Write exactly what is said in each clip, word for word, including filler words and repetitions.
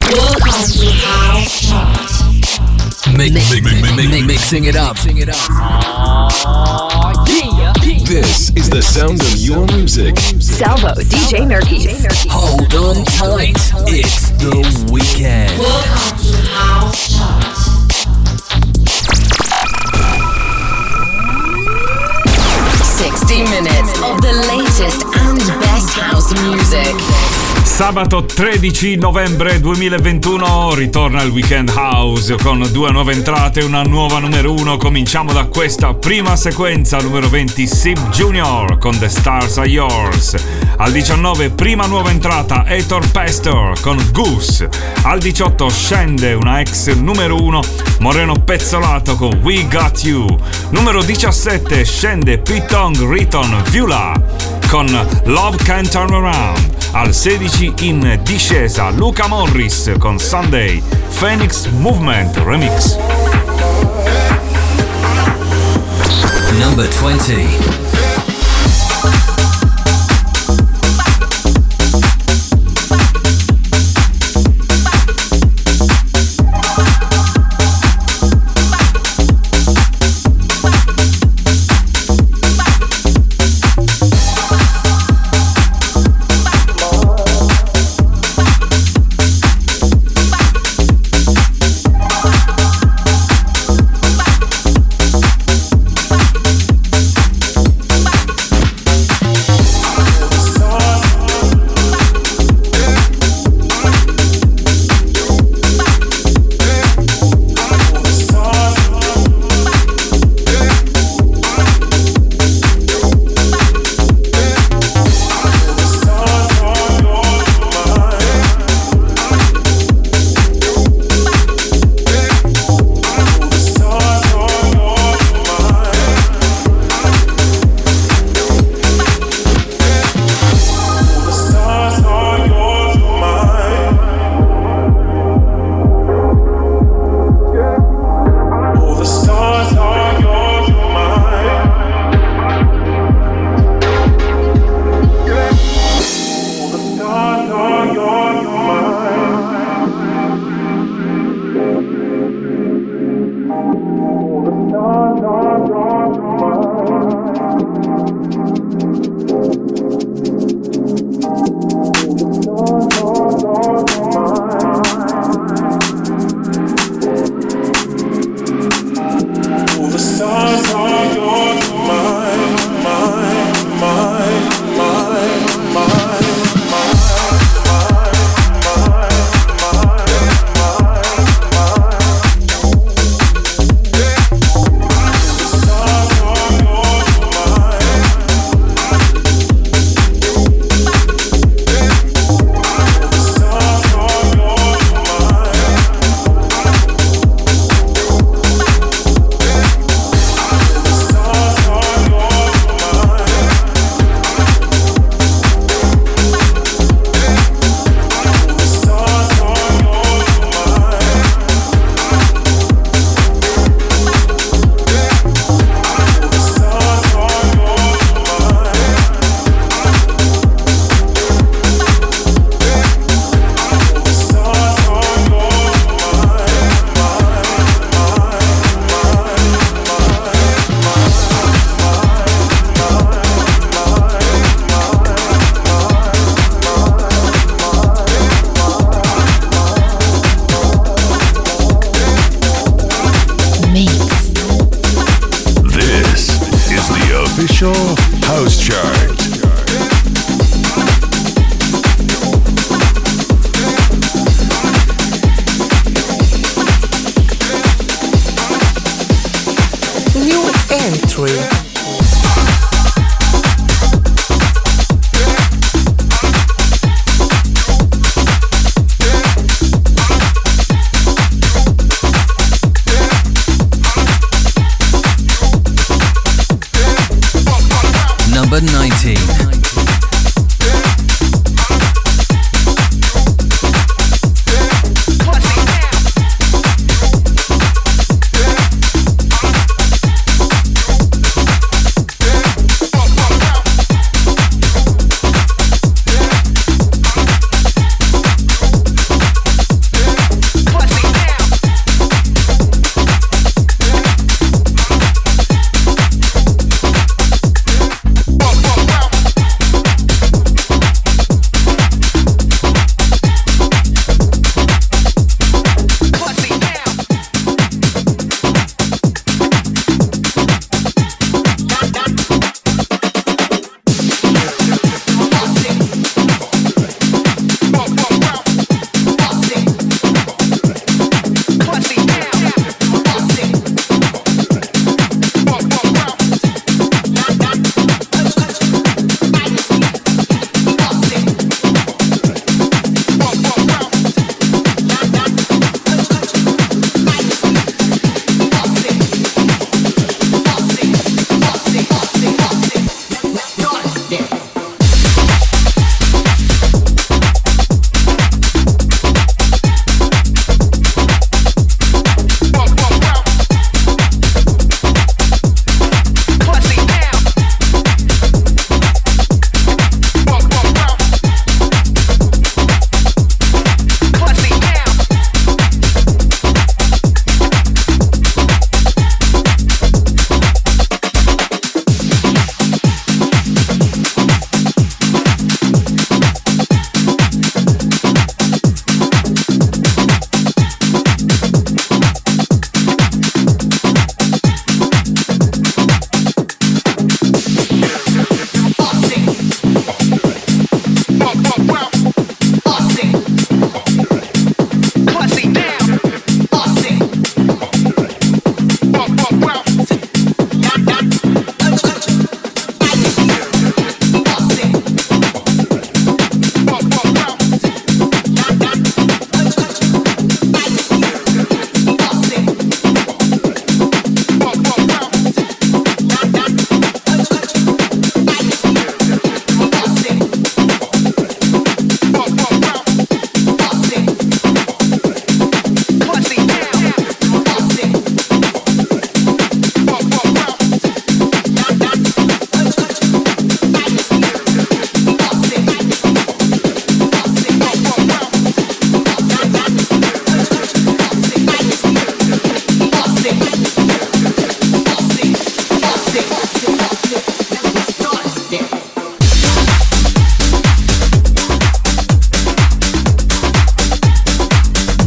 Welcome to House Chart. Mix, mix, mix, mix, mixing it up. Oh, yeah. This is the sound of your music. Salvo, D J Nerkis. Hold on tight, it's the weekend. Welcome to House Chart. sixty minutes of the latest and best house music. Sabato tredici novembre duemilaventuno ritorna il Weekend House con due nuove entrate e una nuova numero uno. Cominciamo da questa prima sequenza, numero venti, Sib Junior con The Stars Are Yours. Al diciannove, prima nuova entrata, Heitor Pastor con Goose. Al diciotto scende una ex numero uno, Moreno Pezzolato con We Got You. Numero diciassette scende Pete Tong Riton Vula con Love Can't Turn Around. Al sedici in discesa Luca Morris con Sunday, Phoenix Movement Remix. Number twenty.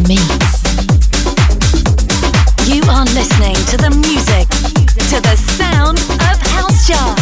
meets. You are listening to the music, to the sound of House Chart.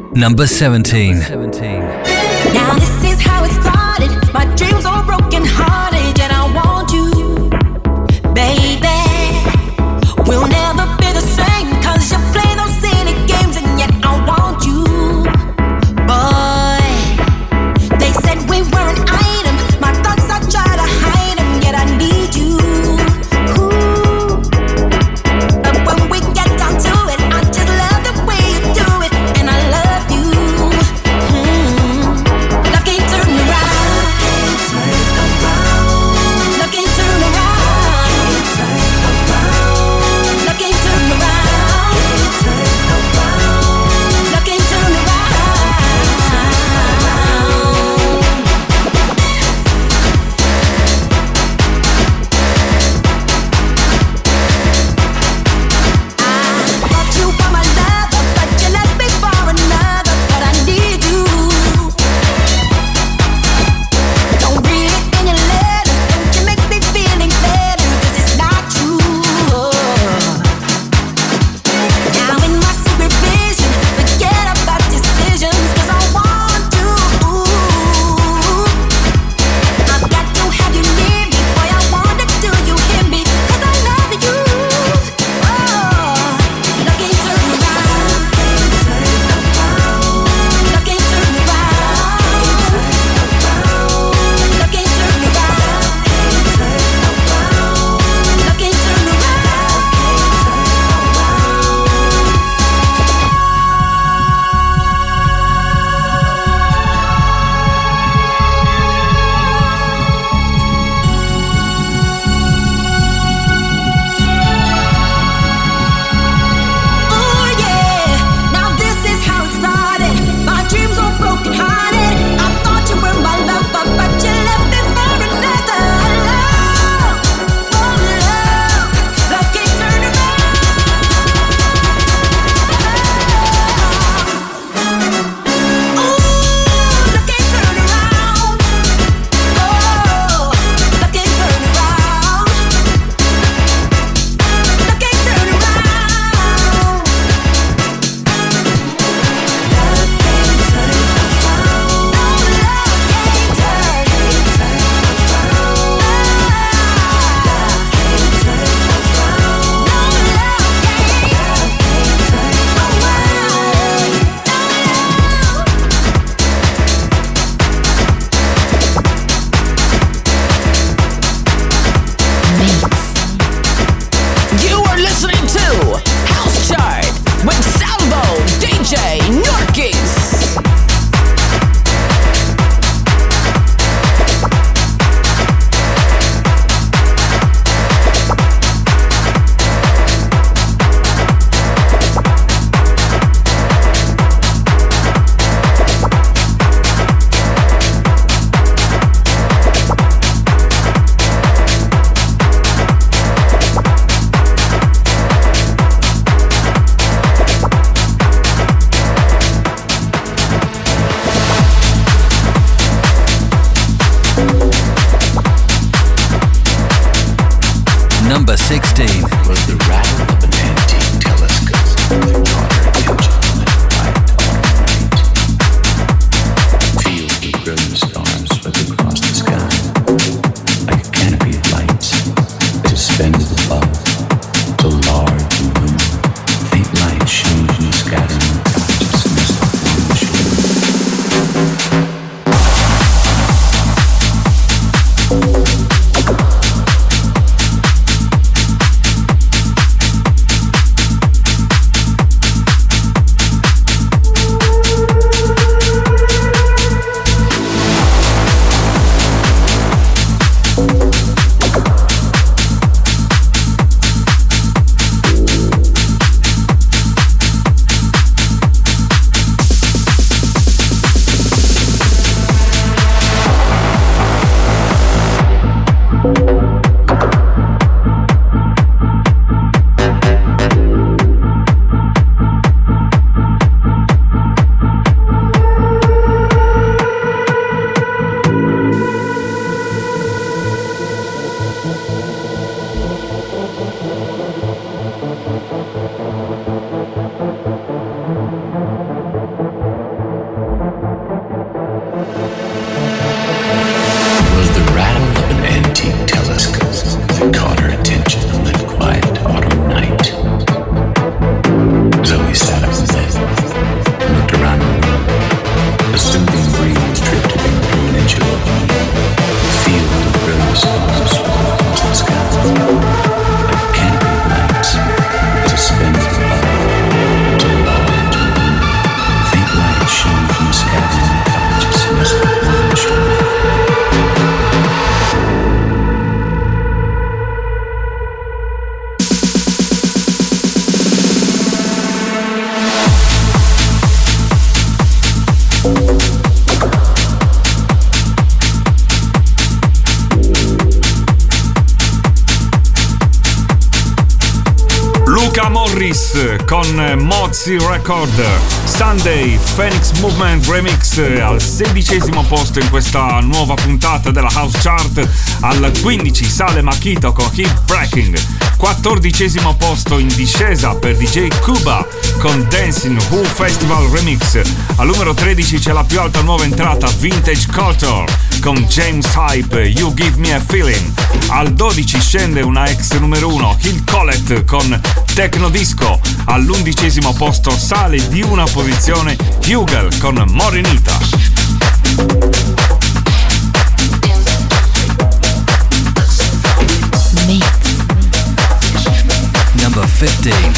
Number seventeen. Now this is how it started. My dreams are broken hearted, and I want you, baby. We'll never be the same, cause you play those silly games, and yet I want you, boy. They said we were an item, my thoughts I try to hide them, yet I need you. Ooh. But when we get down to it, I just love the way you do it, and I love you. Mm. Love can't turn around. Love can't turn around. Love can't turn around. Love can't turn around. I thought you were my lover, but you left me for another. But I need you. Don't read it in your letters. Don't you make me feeling better, cause it's not true. Now in my secret vision, forget about decisions, cause I want you. I've got to have you near me, boy, I wonder do you hear me, cause I love you. Oh, love can't turn around. Love can't turn around. Love can't turn around. Love can't turn Oh yeah, now this is how it started. My dreams were broken hearted. I thought you were my lover, but you left me for another. Love, oh love, love can't turn around. Ooh, love can't turn around. Oh, love can't turn around. Love can't turn around. You are listening to House Chart with Salvo D J Norkis. Number sixteen. Was the rattle of an antique telescope that brought her attention light all night. Feel the brilliant stars swept across the sky, like a canopy of lights suspended above, so large and luminous. Faint light shone from the scattering consciousness along the shore. Morris con Mozzie Record. Sunday Phoenix Movement Remix al sedicesimo posto in questa nuova puntata della House Chart. Al quindici sale Makito con Keep Breaking. quattordicesimo posto in discesa per D J Kuba con Dancing Who Festival Remix. Al numero tredici c'è la più alta nuova entrata, Vintage Culture con James Hype, You Give Me a Feeling. Al dodici scende una ex numero uno, Hill Collett con Techno Disco. All'undicesimo posto sale di una posizione Hugel con Morenita. Number fifteen.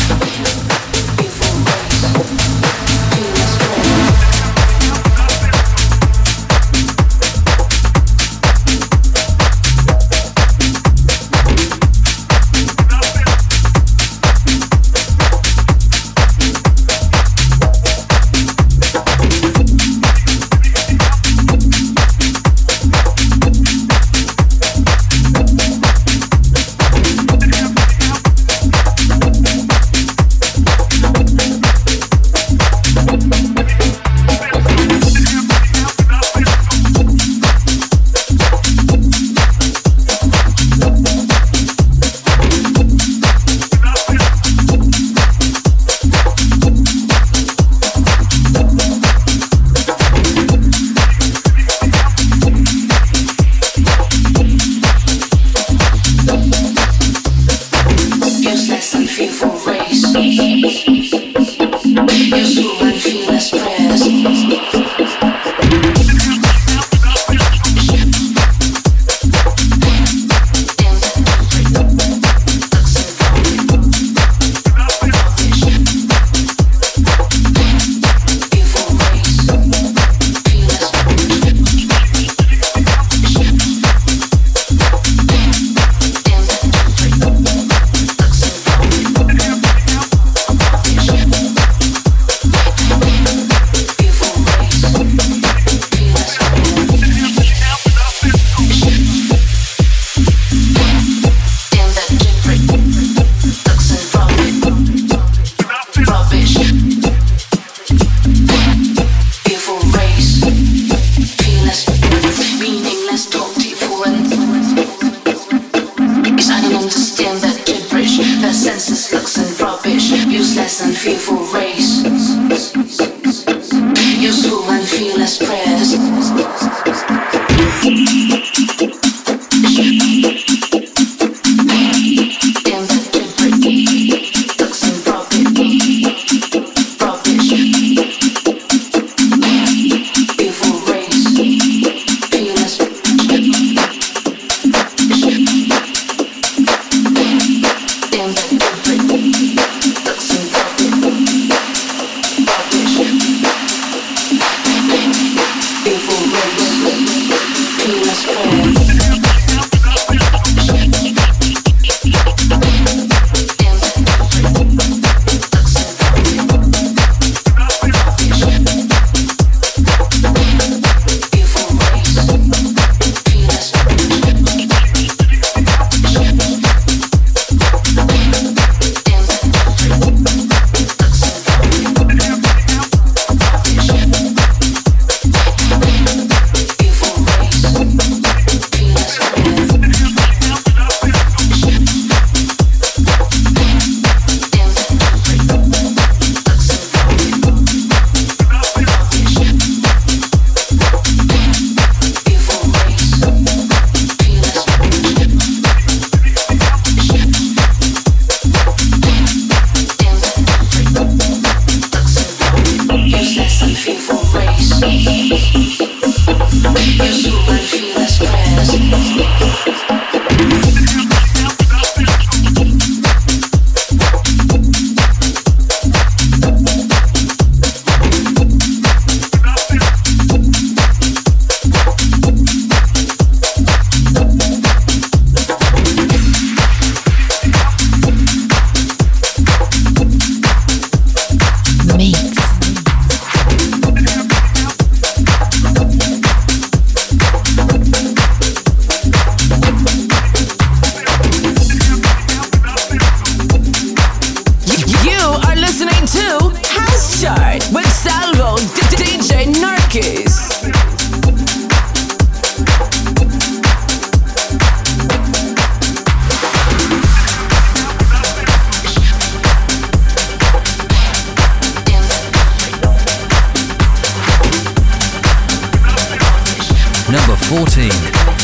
Number fourteen.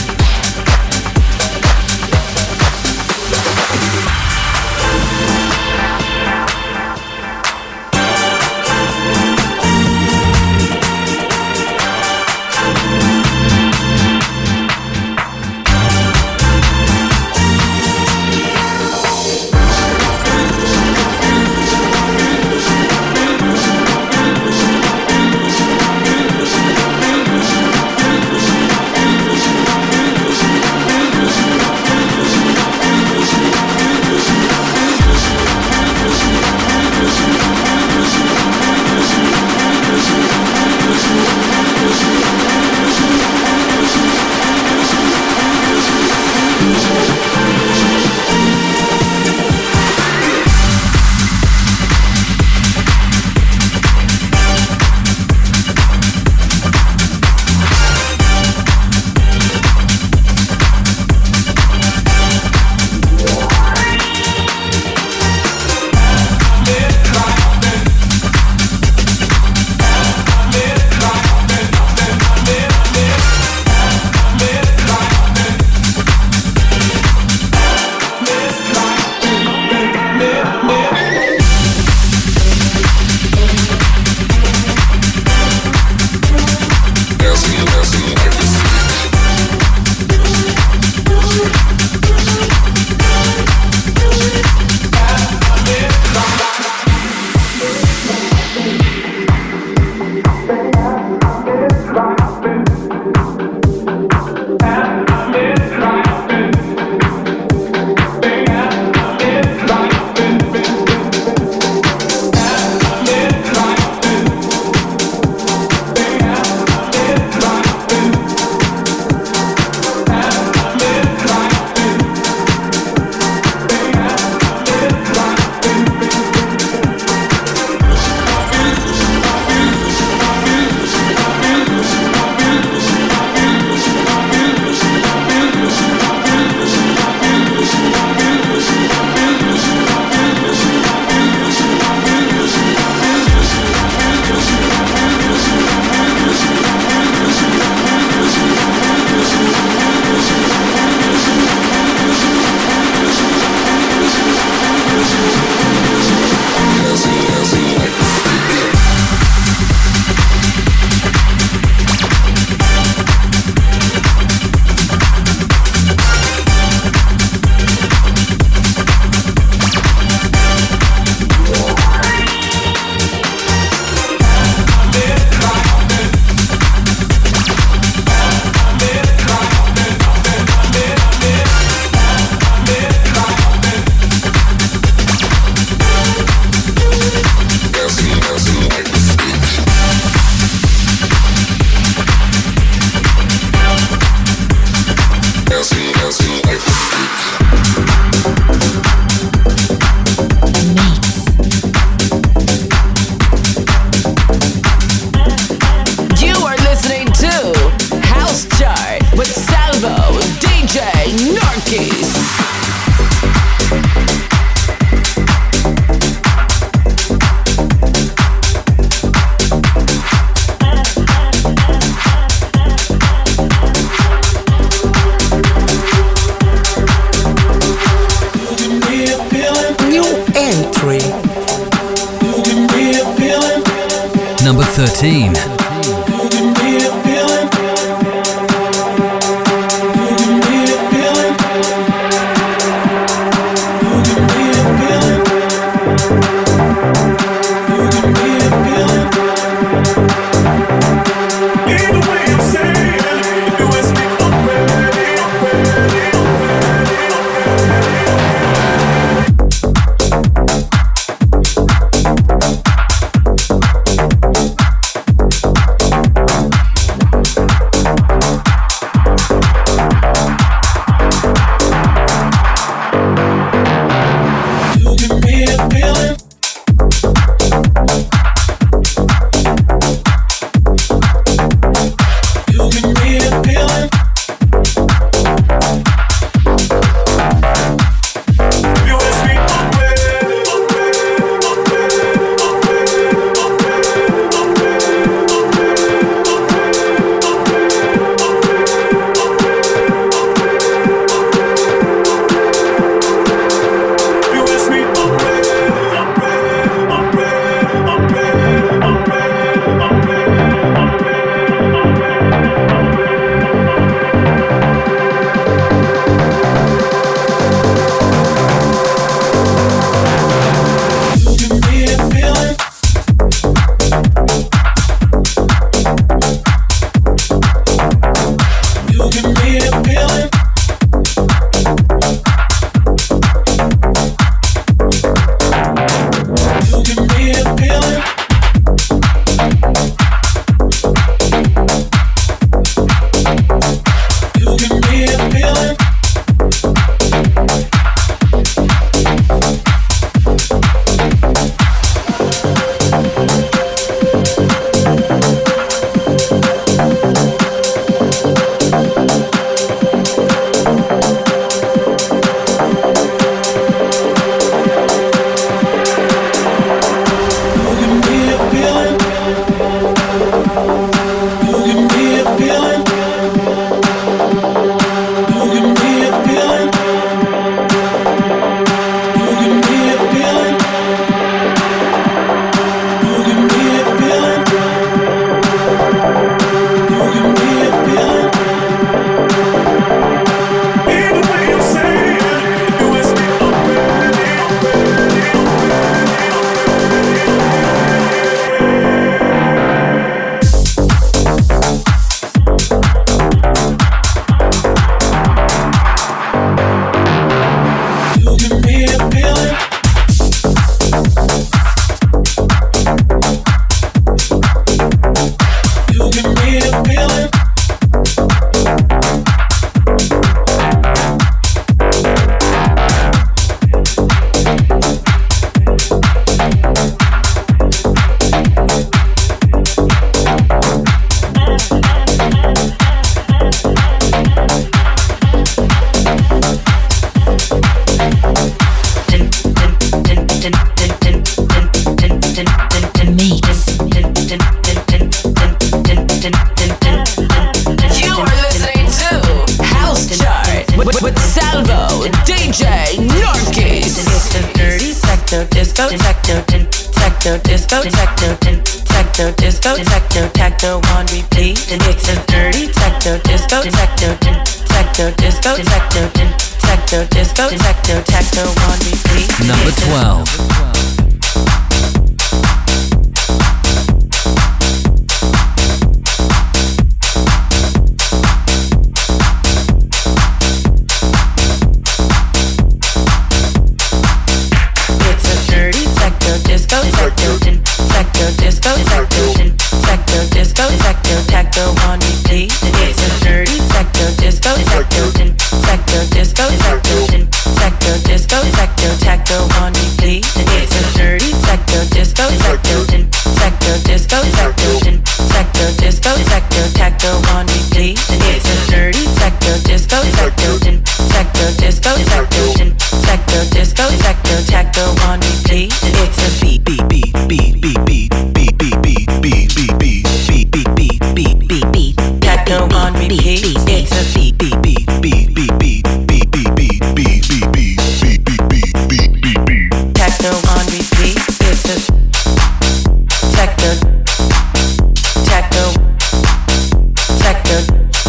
Number thirteen. disco, techno, techno, disco, techno, techno, disco, techno, techno on repeat. And it's a dirty techno, disco, techno, techno, disco, techno, techno, disco, techno, techno on repeat. Number twelve. Disco, techno, techno, disco, techno, techno, disco, techno, techno on repeat. And it's a dirty techno, disco, techno, techno, disco, techno, techno, disco, techno, techno on repeat. And it's a dirty techno, disco, techno, techno, disco, techno, techno, disco, techno, techno on repeat. And it's a dirty techno, disco, techno, techno, disco, techno, techno, disco, techno, techno on repeat. And it's a beat, beat, beat, beat, beat, beat, beat, beat, beat, beat, beat, beat, beat, beat, beat, beat, beat, techno on repeat. It's a beat, beat, beat, beat, beat, beat, beat, beat, beat, beat, beat, beat, beat, beat, beat, beat, beat, techno on repeat. It's a techno, techno, techno,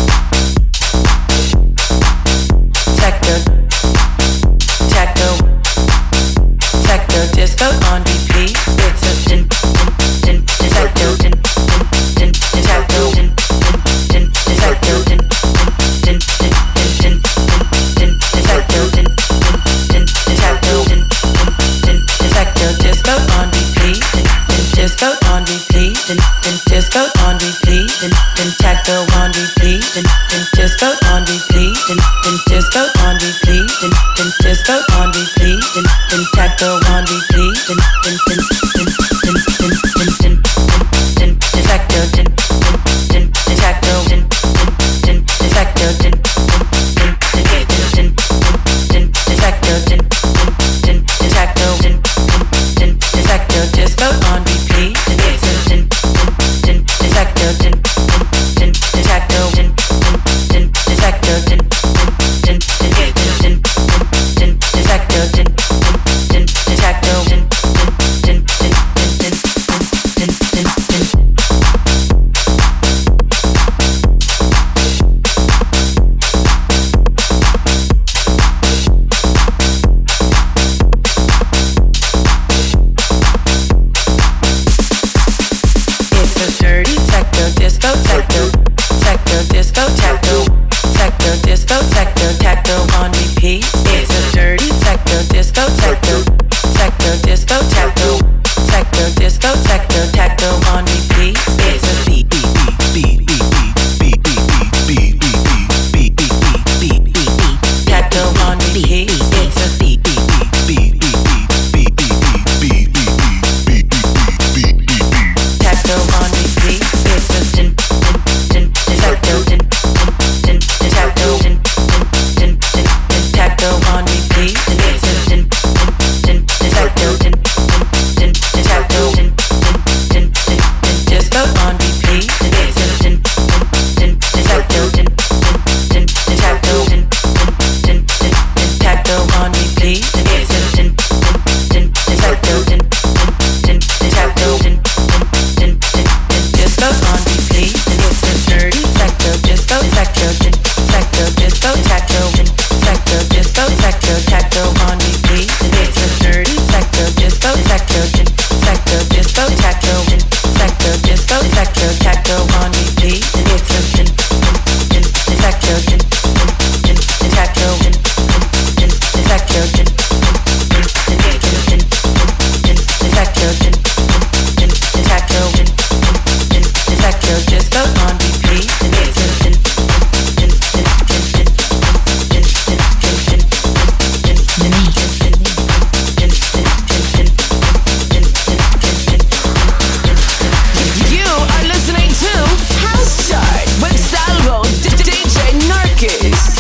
techno, techno, techno disco on repeat. It's a din, din, din, techno, din, din, din, techno, din, din, din, techno, din, din, din, din, din, din, techno, din, din, din, techno, din, din, din, techno disco on repeat. Din, disco on repeat. Din, din, disco on repeat. Din, din, techno on repeat. Din, din, disco on repeat. Din, din, disco on repeat. Din, din, disco on repeat. Din, din, techno on repeat. Din, din, din, din, din, din, din, din, din, din, techno, din, din, din, techno, din, din, din, techno, din, din, din, din, din, din, techno, din, din, din, techno, din, din, din, techno disco on repeat. And it's a din, din, din, techno, din, din, din, techno, din, din, din, techno, din, din, din, din, din, din, techno, din, din, din, techno, din, din, din, din, din, din, din, din. It's a dirty techno, disco, techno, techno, disco, techno, techno, disco, techno, techno on repeat. It's a dirty techno, disco, techno, techno, disco, techno, techno, disco, techno, techno on repeat. It's a beat, beat, beat, beat, beat, beat, beat, beat, beat, beat, beat, beat, beat, beat, beat, beat, techno on repeat. It's a beat, beat, beat, beat, beat, beat, beat, beat, beat, beat, beat, beat, beat, beat, techno on repeat. It's a din, din, din, techno, din, din, din, techno, din, din, din, din, techno on repeat. And it's a din, din, din, techno, din, din, din, techno, din, din, din, din, disco on repeat. And it's a din, din, din, techno, din, din, din, techno, din, din, din, din, techno on repeat. And it's a din, din, din, techno, din, din, din, techno, din, din, din, din, disco on repeat. And it's a dirty techno, disco, techno, din, techno, disco, techno, din, techno, disco, techno, techno on repeat. And it's a dirty techno, disco, techno, din, techno, disco, techno, din, techno, disco, techno, techno on repeat. And it's a din, din, din, techno, din, din, din, techno, din, din, din, techno, din, din, din, din, din, din, techno, din, din, din, techno, din, din, din, techno disco on repeat. And it's a din, din, din, din, din, din, din, din, din, din, din, din, You are listening to House Chart with Salvo, D J Narcus.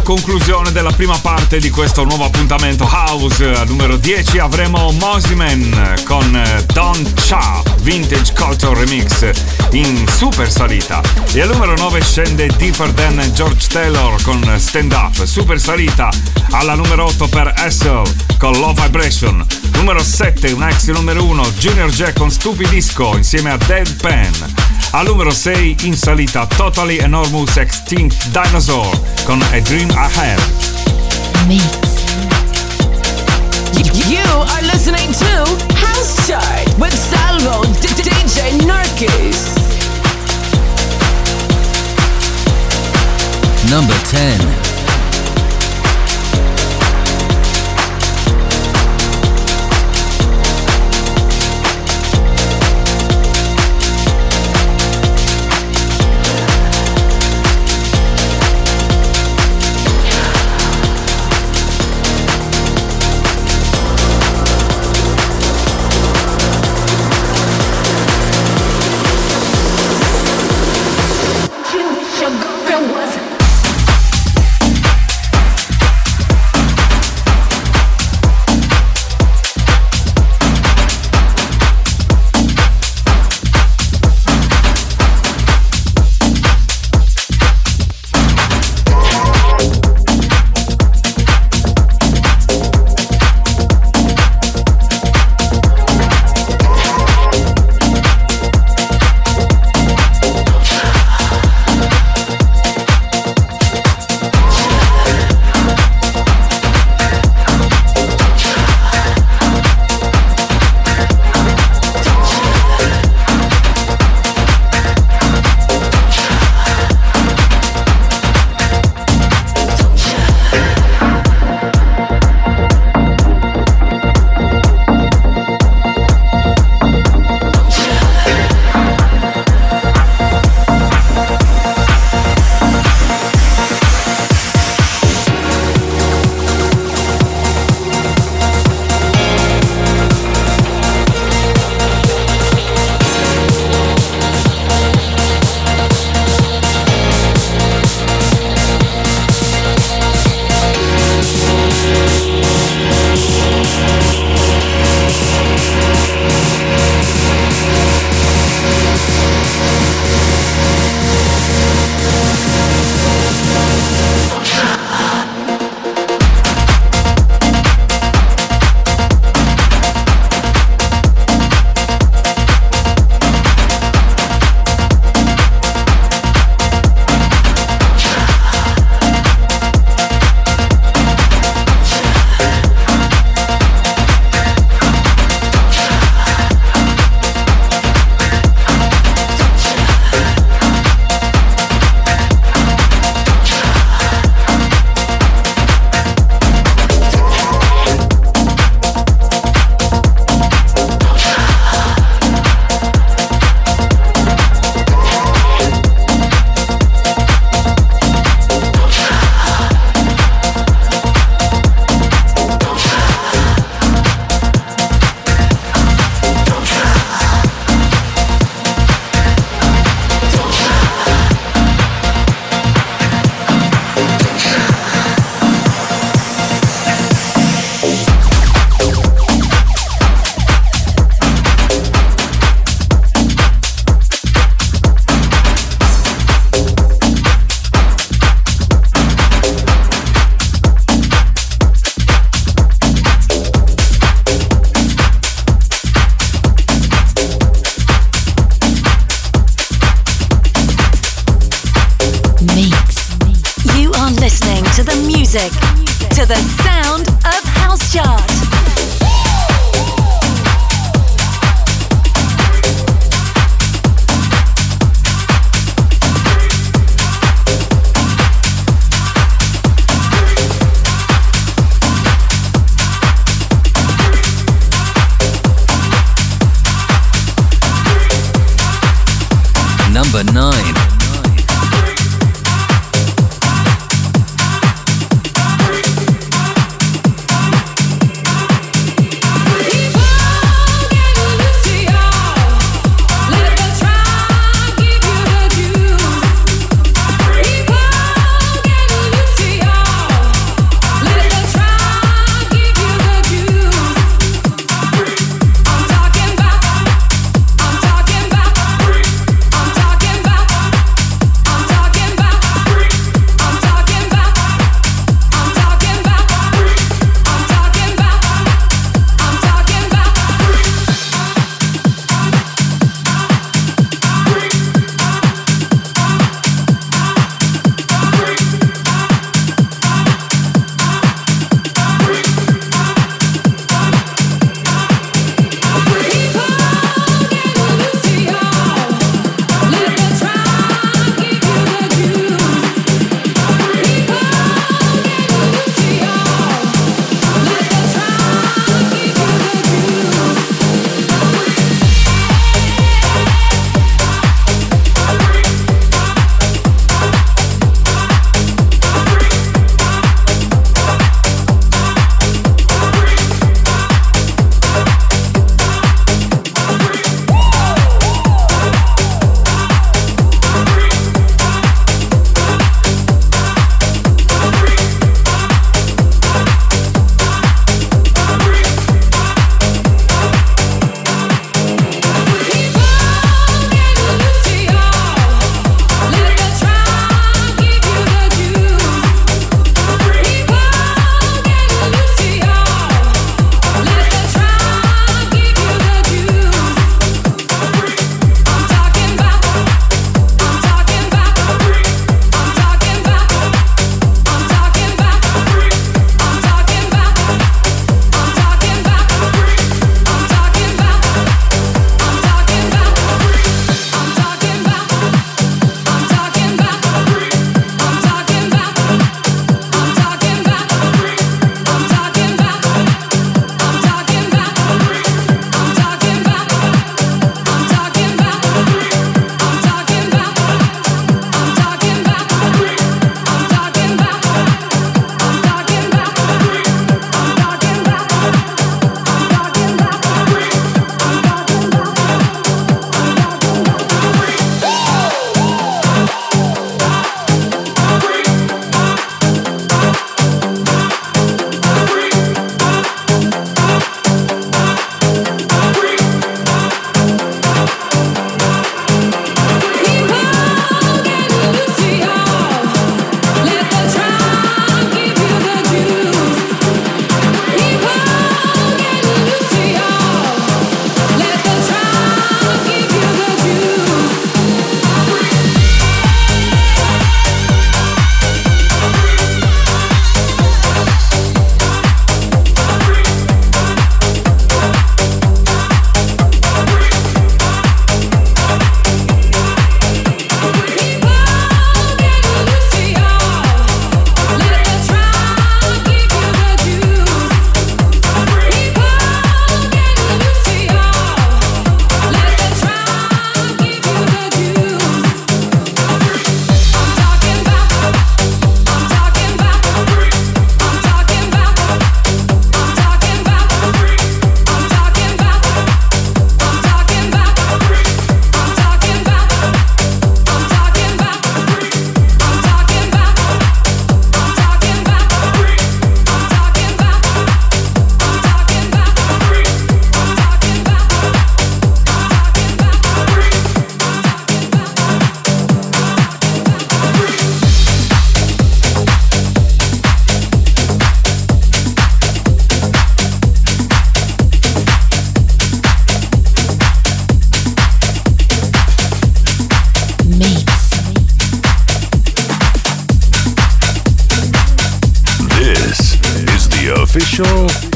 conclusione della prima parte di questo nuovo appuntamento House. Al numero dieci avremo Mosiman con Don Cha Vintage Culture Remix in super salita, e al numero nove scende Deeper Than George Taylor con Stand Up, super salita. Alla numero otto per Hassel con Low Vibration. Numero sette, un ex numero uno, Junior Jack con Stupidisco insieme a Deadpan. Al numero sei in salita Totally Enormous Extinct Dinosaur con A Dream I Had. Mix. You are listening to House Chart with Salvo D J Narkis. Number ten. To the sound of House Chart. Number nine.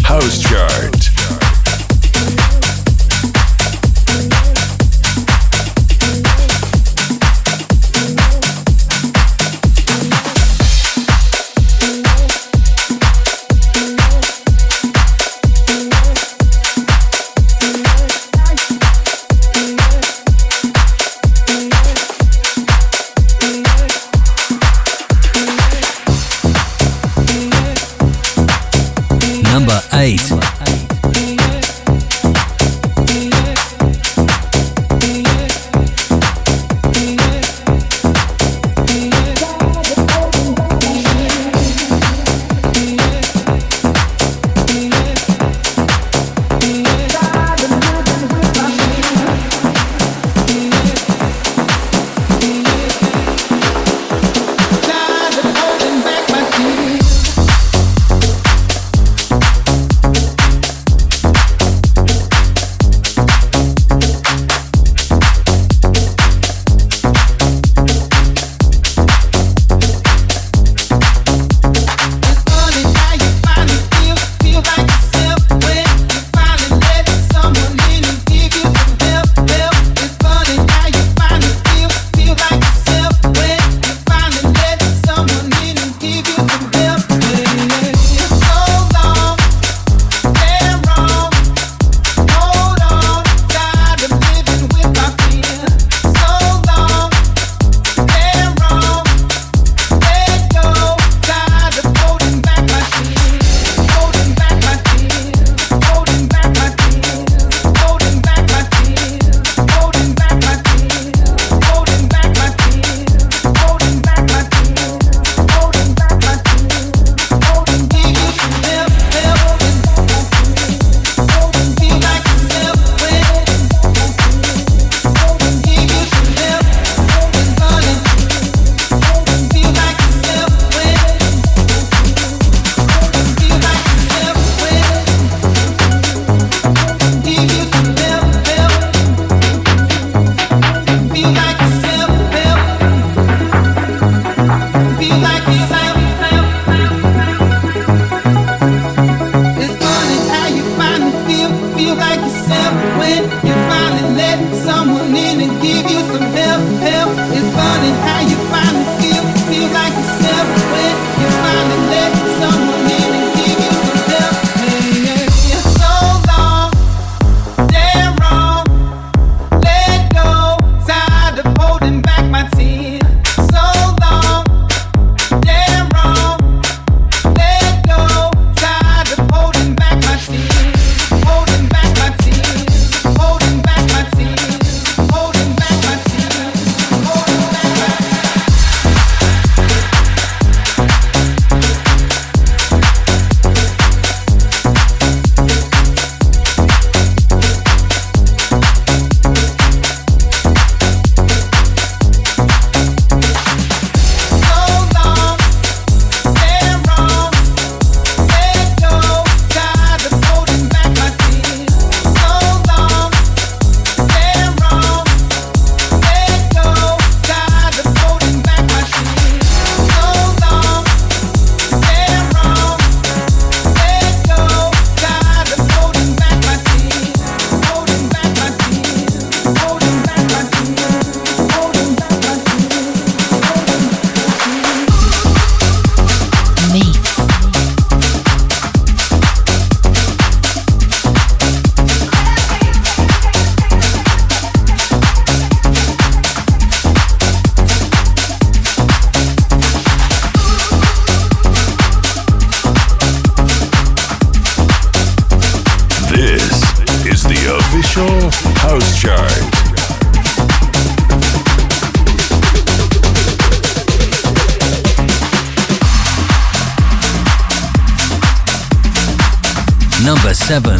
House Chart. Number eight. House Chart. Number seven.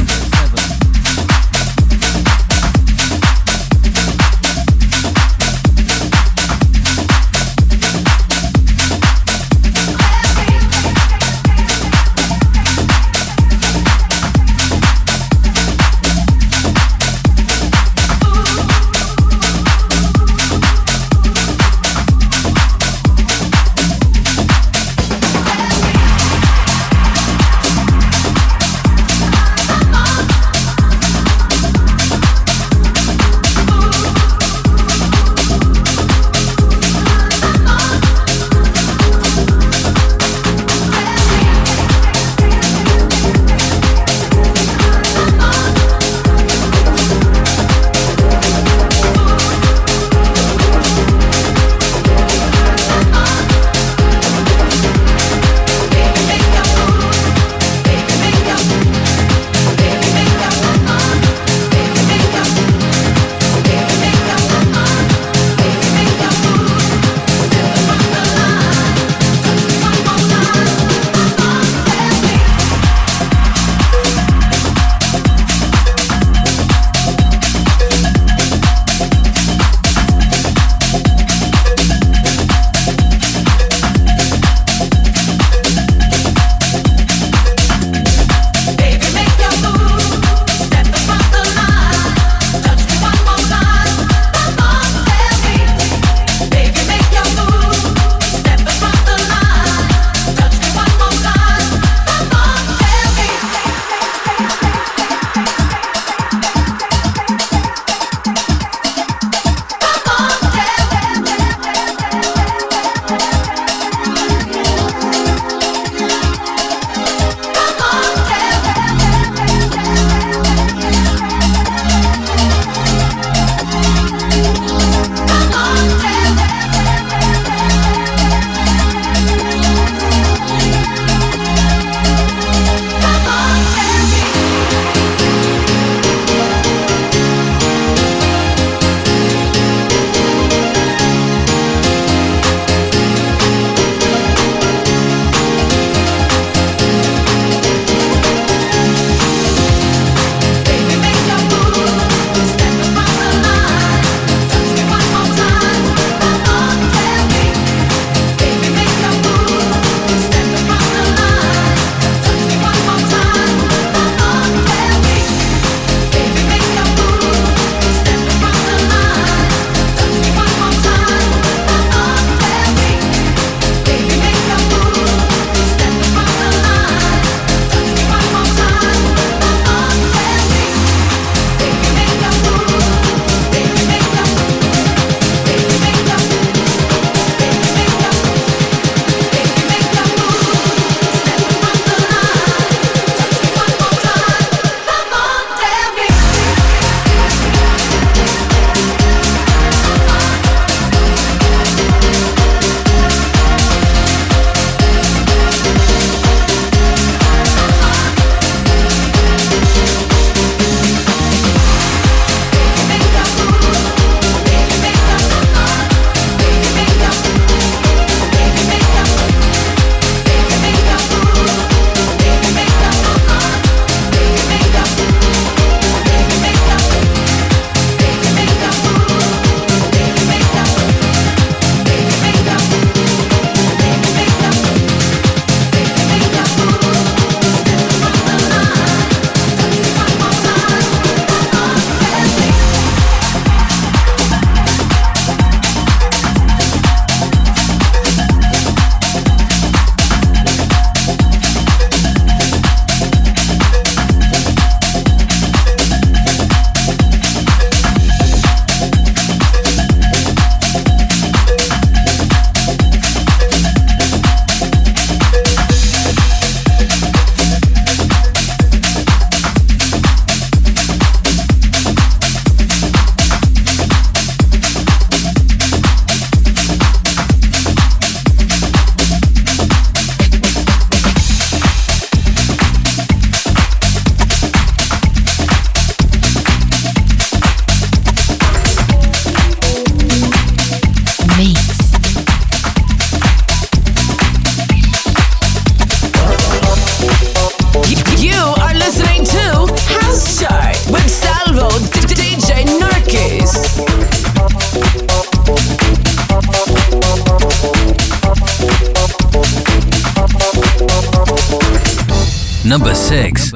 Number six.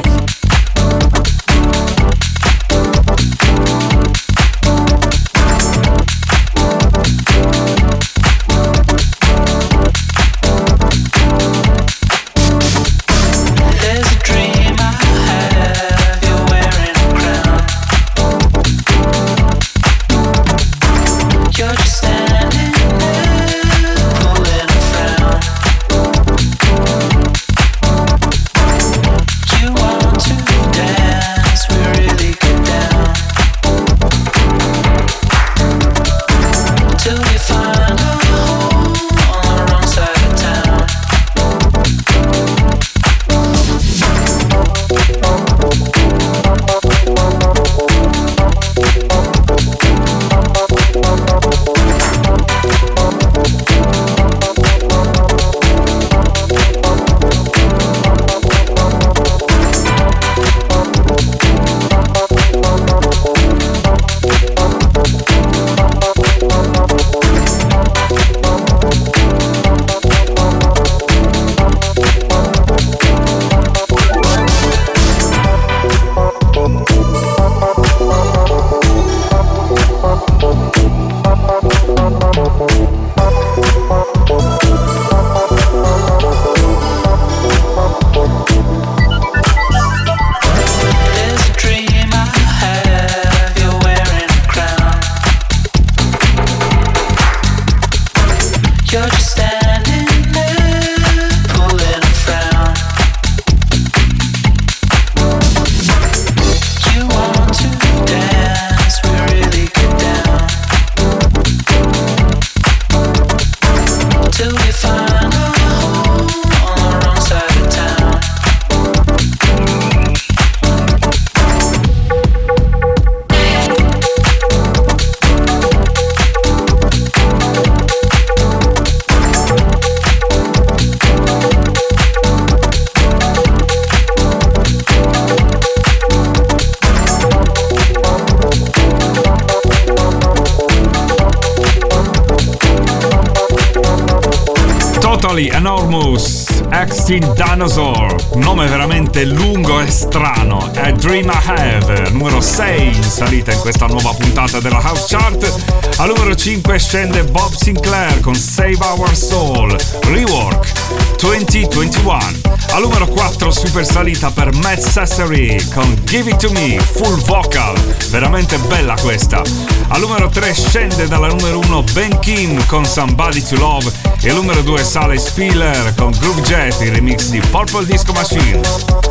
Enormous, Extinct Dinosaur, un nome veramente lungo e strano, è Dream I Have, numero sei in salita in questa nuova puntata della House Chart. Al numero cinque scende Bob Sinclair con Save Our Soul, Rework, duemilaventuno. Al numero quattro super salita per Matt Sassery con Give It To Me, full vocal, veramente bella questa. Al numero tre scende dalla numero uno Ben Kim con Somebody To Love e al numero due sale Spiller con Groove Jet, il remix di Purple Disco Machine.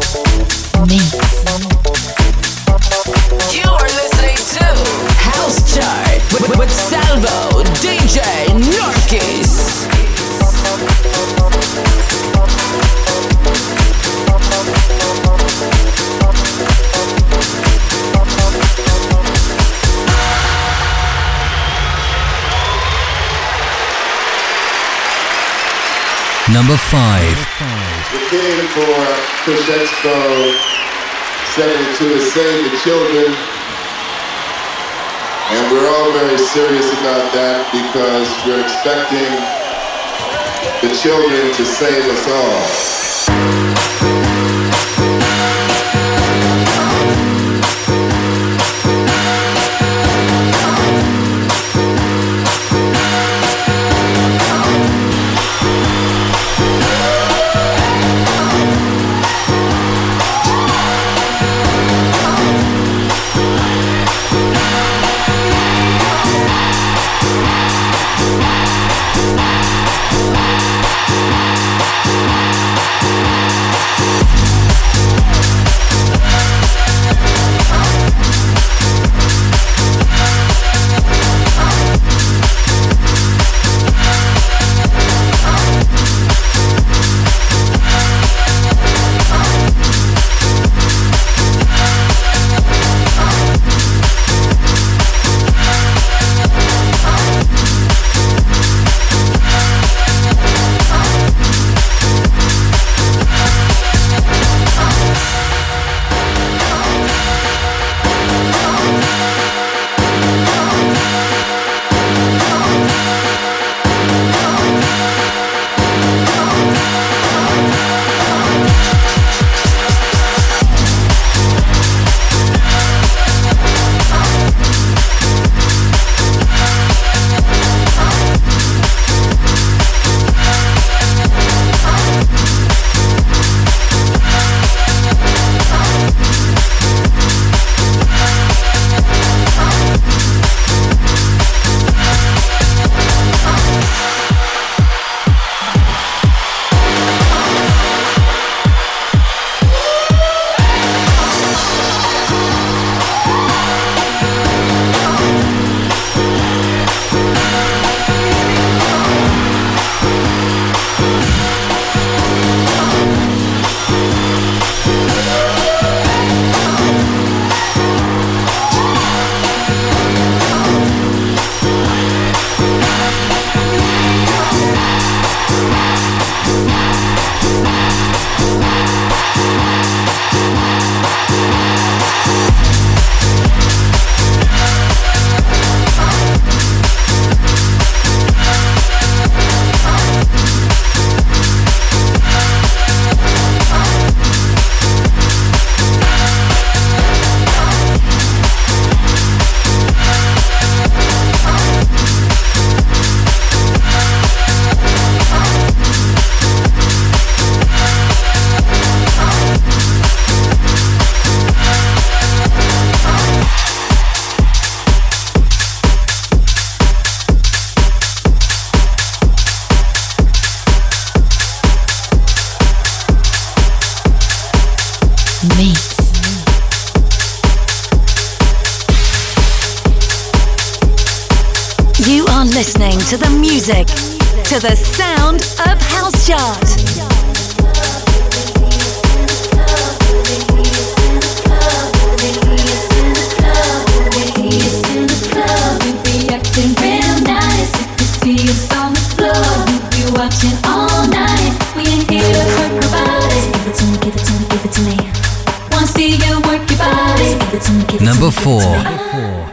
Mix. You are listening to House Chart with, with Salvo, D J Narkis. Number five. We came for Push Expo seventy-two to save the children, and we're all very serious about that because we're expecting the children to save us all. to the music, to the sound of House Chart. Acting real nice. If you see us on the floor, we'll be watching all night. We ain't here to hurt nobody. Give it to me, give it to me, give it to me. Wanna see you work your body. Give it to me, give it Number to me. four. Give it to me.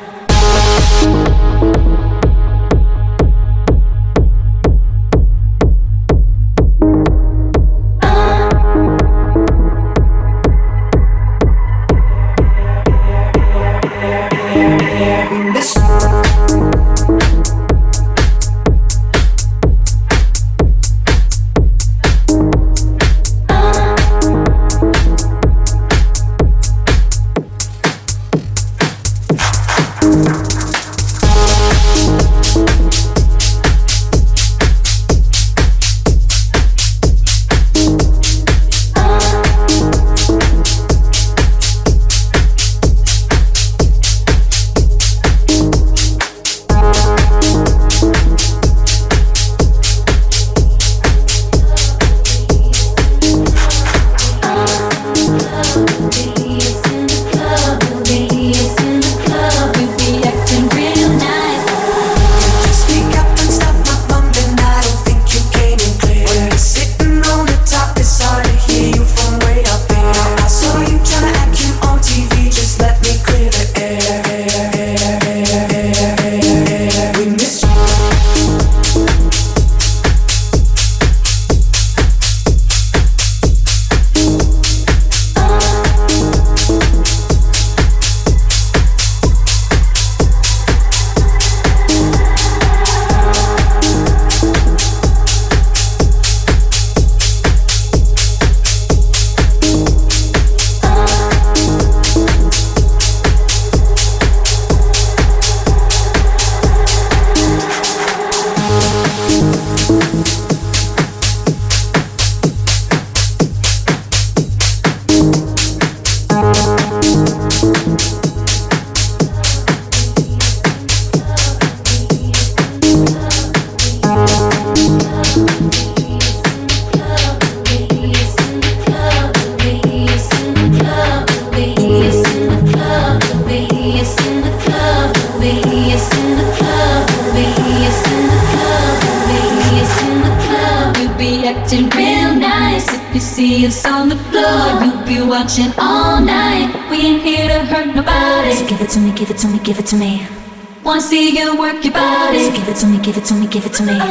Watching all night. We ain't here to hurt nobody. So give it to me, give it to me, give it to me. Wanna see you work your body. So give it to me, give it to me, give it to me.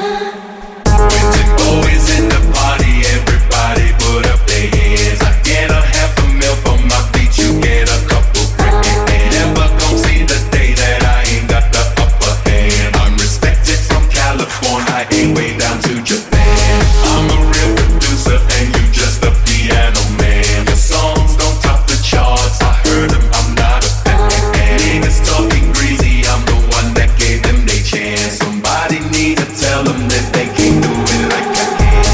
When boys in the party, everybody put up their hands. I get a half a mil for my beat, you get a couple grand. Never gon' see the day that I ain't got the upper hand. I'm respected from California, I ain't way down to Japan. I'm a real producer and you just a piano man. Your songs don't top the charts, I heard them, I'm not a fan. Niggas talking greasy, I'm the one that gave them their chance. Somebody need to tell them that they can't do it like I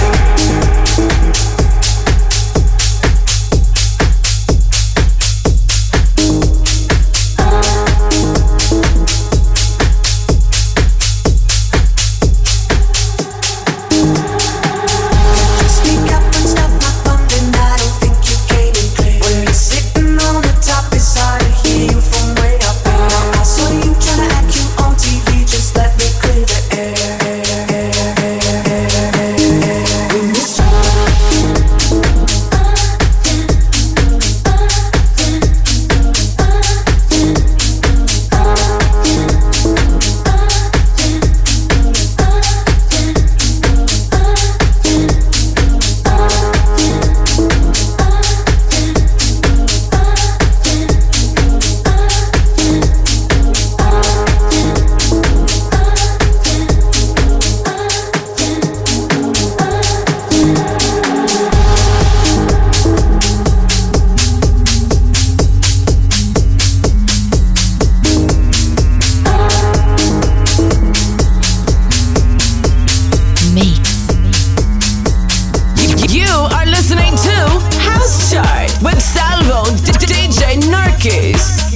Kiss.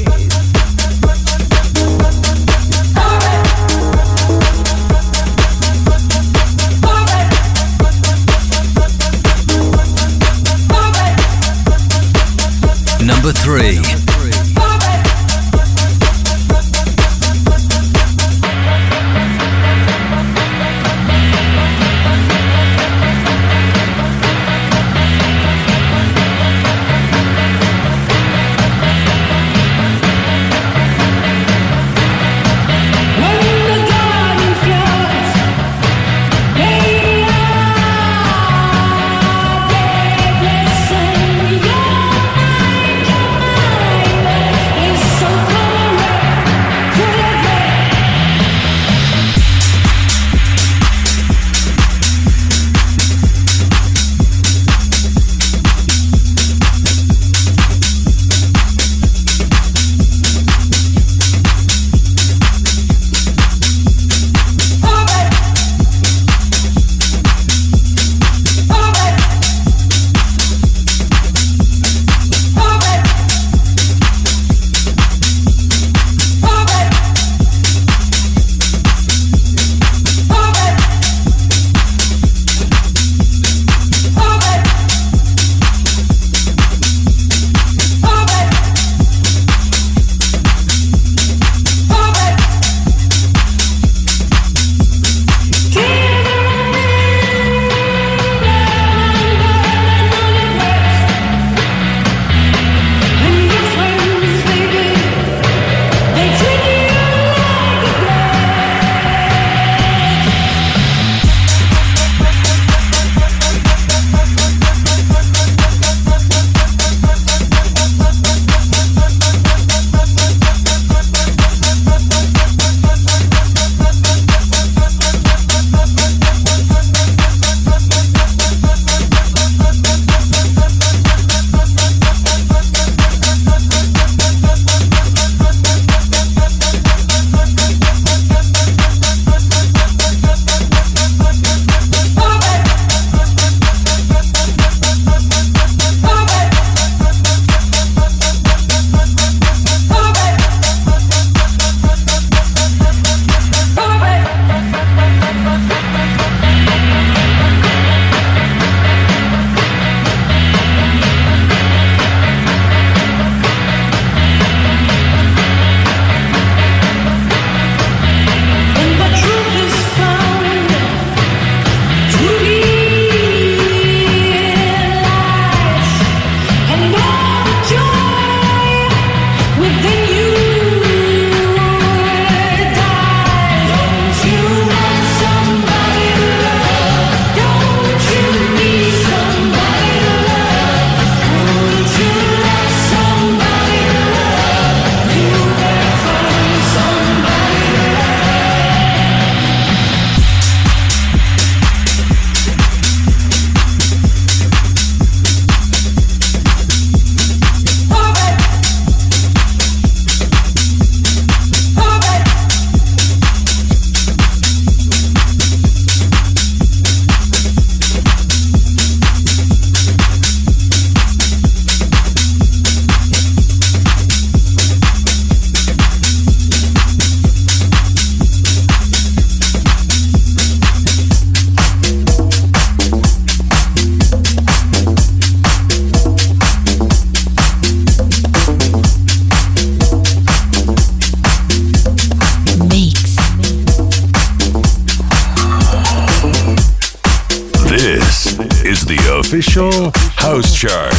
Official House Chart.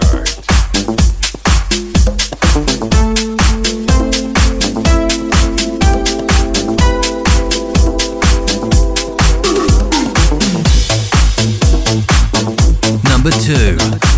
Number two.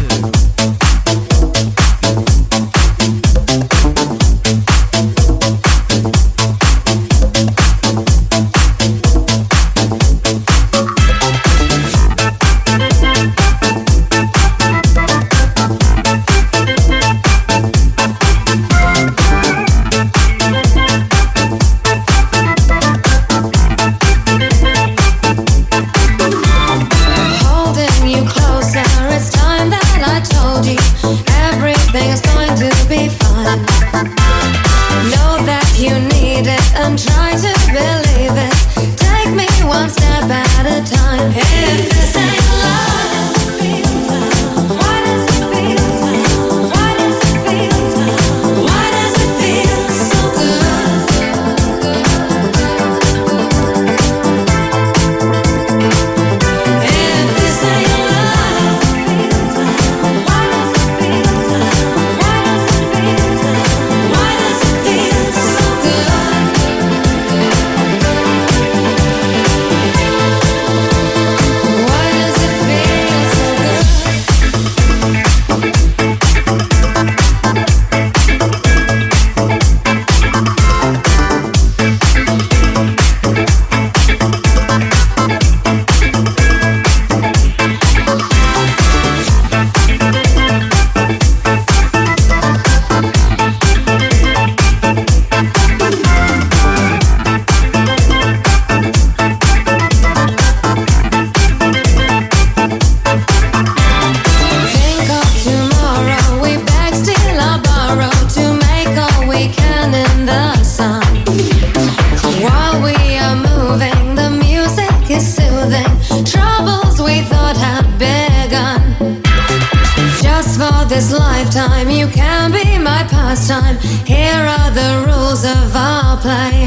this lifetime. You can be my pastime. Here are the rules of our play.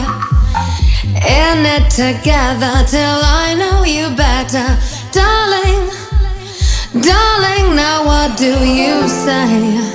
In it together till I know you better. Darling, darling, now what do you say?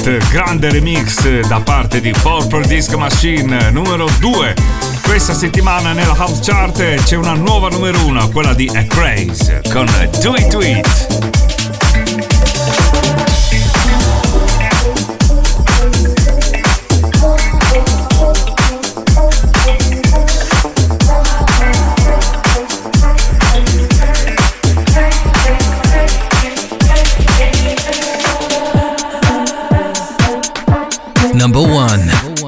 It, grande remix da parte di Purple Disco Machine, numero due. Questa settimana nella House Chart c'è una nuova numero uno, quella di A Craze con Do It Do It. Number one.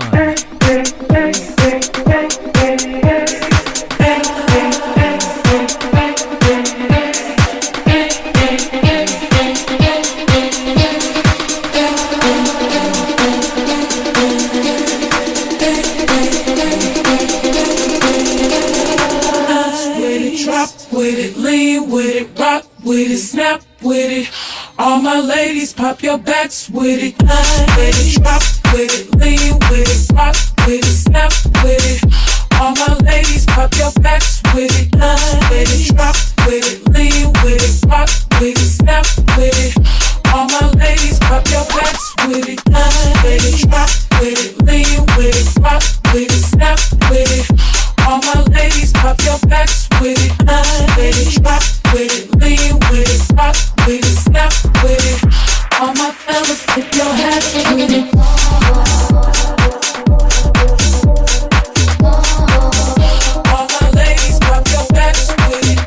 All my ladies, pop your backs with it. With it, drop with it, lean with it, rock with it, snap with it. All my ladies, pop your backs with it. With it, drop with it, lean with it, rock with it, snap with it. All my ladies, pop your backs with it. With it, drop with it, lean with it, rock with it, snap with it. All my ladies, pop your backs with it. With it, drop with it, lean with it, rock with it, snap with it. All my fellas, tip your hats with it. All my ladies, pop your backs with it.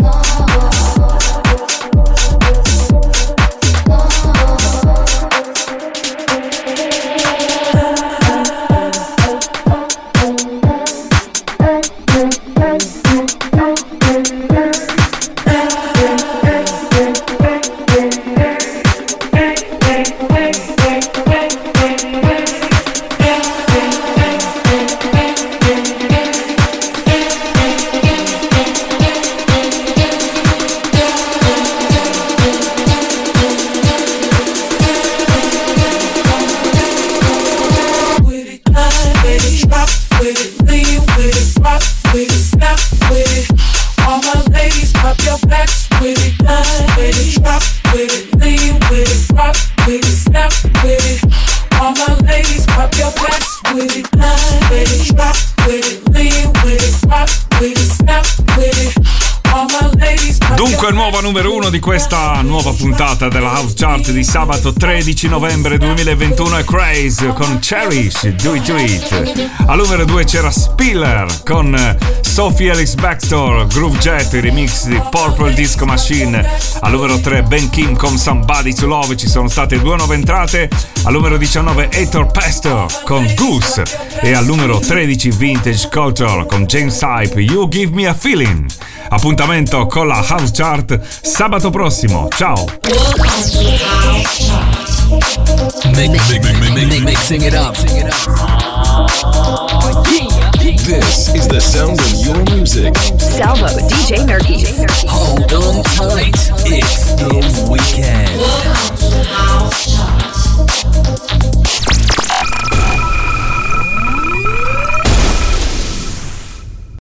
Numero uno di questa nuova puntata della House Chart di sabato tredici novembre duemilaventuno è Craze con Cherish, Do It Do It. Al numero due c'era Spiller con Sophie Ellis Bextor, Groove Jet, il remix di Purple Disco Machine. Al numero tre Ben Kim con Somebody to Love, ci sono state due nuove entrate. Al numero diciannove Heitor Pesto con Goose e al numero tredici Vintage Culture con James Hype, You Give Me a Feeling. Appuntamento con la House Chart sabato prossimo. Ciao. Mixing it up. This is the sound of your music. Salvo, D J Nurkies. Hold on tight. It's